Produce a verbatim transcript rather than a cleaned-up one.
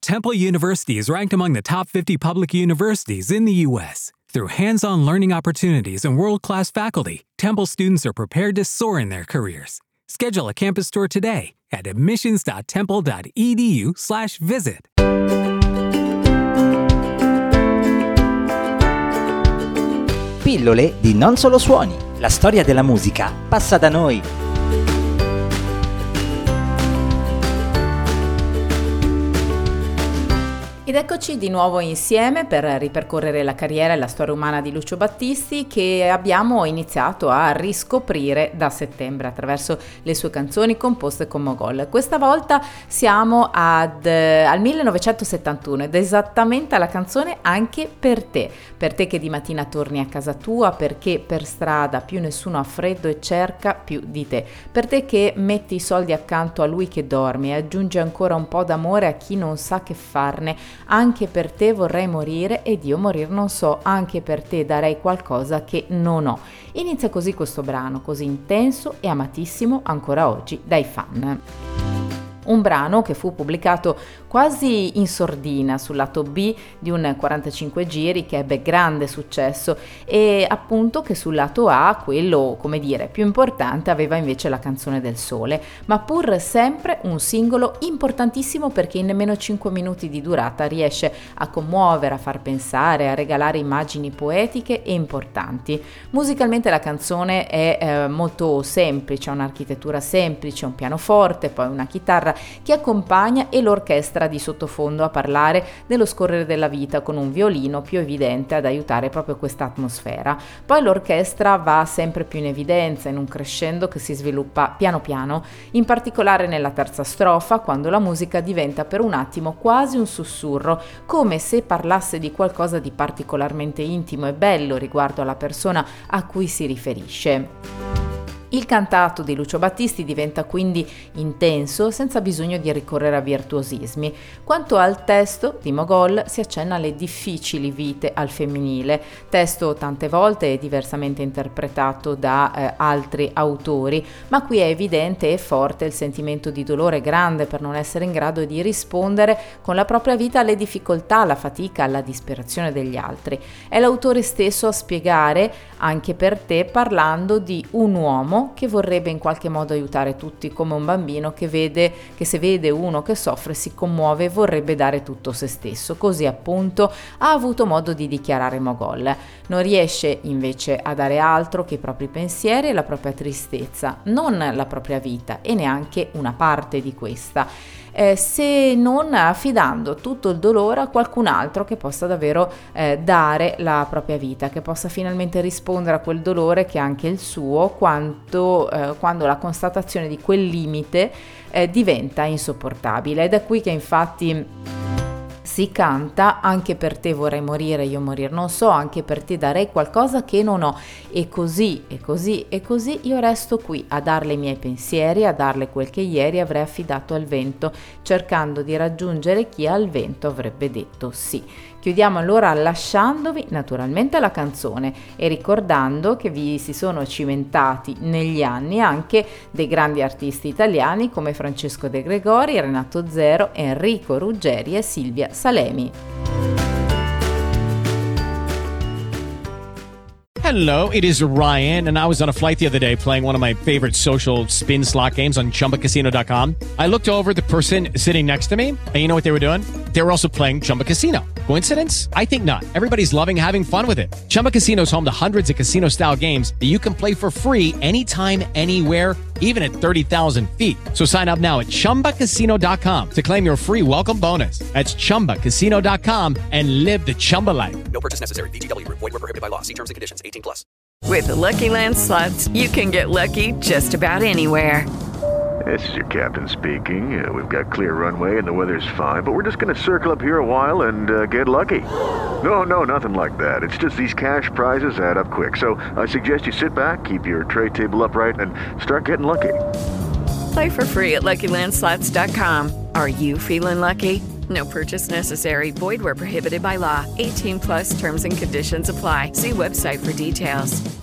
Temple University is ranked among the top fifty public universities in the U S Through hands-on learning opportunities and world-class faculty, Temple students are prepared to soar in their careers. Schedule a campus tour today at admissions.temple.edu slash visit. Pillole di Non Solo Suoni. La storia della musica passa da noi. Ed eccoci di nuovo insieme per ripercorrere la carriera e la storia umana di Lucio Battisti, che abbiamo iniziato a riscoprire da settembre attraverso le sue canzoni composte con Mogol. Questa volta siamo ad, eh, al millenovecentosettantuno ed esattamente alla canzone Anche per te. Per te che di mattina torni a casa tua, perché per strada più nessuno ha freddo e cerca più di te. Per te che metti i soldi accanto a lui che dorme e aggiunge ancora un po' d'amore a chi non sa che farne. Anche per te vorrei morire ed io morir non so, anche per te darei qualcosa che non ho. Inizia così questo brano, così intenso e amatissimo ancora oggi dai fan. Un brano che fu pubblicato quasi in sordina sul lato B di un quarantacinque giri che ebbe grande successo e appunto che sul lato A, quello come dire più importante, aveva invece La canzone del sole, ma pur sempre un singolo importantissimo perché in nemmeno cinque minuti di durata riesce a commuovere, a far pensare, a regalare immagini poetiche e importanti. Musicalmente la canzone è eh, molto semplice, ha un'architettura semplice, un pianoforte, poi una chitarra che accompagna e l'orchestra di sottofondo a parlare dello scorrere della vita con un violino più evidente ad aiutare proprio questa atmosfera. Poi l'orchestra va sempre più in evidenza in un crescendo che si sviluppa piano piano, in particolare nella terza strofa, quando la musica diventa per un attimo quasi un sussurro, come se parlasse di qualcosa di particolarmente intimo e bello riguardo alla persona a cui si riferisce. Il cantato di Lucio Battisti diventa quindi intenso senza bisogno di ricorrere a virtuosismi. Quanto al testo di Mogol si accenna alle difficili vite al femminile, testo tante volte diversamente interpretato da eh, altri autori, ma qui è evidente e forte il sentimento di dolore grande per non essere in grado di rispondere con la propria vita alle difficoltà, alla fatica, alla disperazione degli altri. È l'autore stesso a spiegare Anche per te parlando di un uomo che vorrebbe in qualche modo aiutare tutti, come un bambino che vede che se vede uno che soffre si commuove e vorrebbe dare tutto se stesso. Così appunto ha avuto modo di dichiarare Mogol. Non riesce invece a dare altro che i propri pensieri e la propria tristezza, non la propria vita e neanche una parte di questa. Eh, se non affidando tutto il dolore a qualcun altro che possa davvero eh, dare la propria vita, che possa finalmente rispondere a quel dolore che è anche il suo, quanto, eh, quando la constatazione di quel limite eh, diventa insopportabile. Ed è qui che infatti si canta Anche per te vorrei morire, io morir non so, anche per te darei qualcosa che non ho, e così e così e così io resto qui a darle i miei pensieri, a darle quel che ieri avrei affidato al vento, cercando di raggiungere chi al vento avrebbe detto sì. Chiudiamo allora lasciandovi naturalmente la canzone e ricordando che vi si sono cimentati negli anni anche dei grandi artisti italiani come Francesco De Gregori, Renato Zero, Enrico Ruggeri e Silvia Salemi. Hello, it is Ryan, and I was on a flight the other day playing one of my favorite social spin slot games on chumba casino dot com. I looked over at the person sitting next to me, and you know what they were doing? They were also playing Chumba Casino. Coincidence? I think not. Everybody's loving having fun with it. Chumba Casino is home to hundreds of casino-style games that you can play for free anytime, anywhere, even at thirty thousand feet. So sign up now at chumba casino dot com to claim your free welcome bonus. That's chumba casino dot com and live the Chumba life. No purchase necessary. V G W. Void where prohibited by law. See terms and conditions. eighteen plus. With the Lucky Land Slots, you can get lucky just about anywhere. This is your captain speaking. Uh, we've got clear runway and the weather's fine, but we're just going to circle up here a while and uh, get lucky. No, no, nothing like that. It's just these cash prizes add up quick. So I suggest you sit back, keep your tray table upright, and start getting lucky. Play for free at lucky land slots dot com. Are you feeling lucky? No purchase necessary. Void where prohibited by law. eighteen plus terms and conditions apply. See website for details.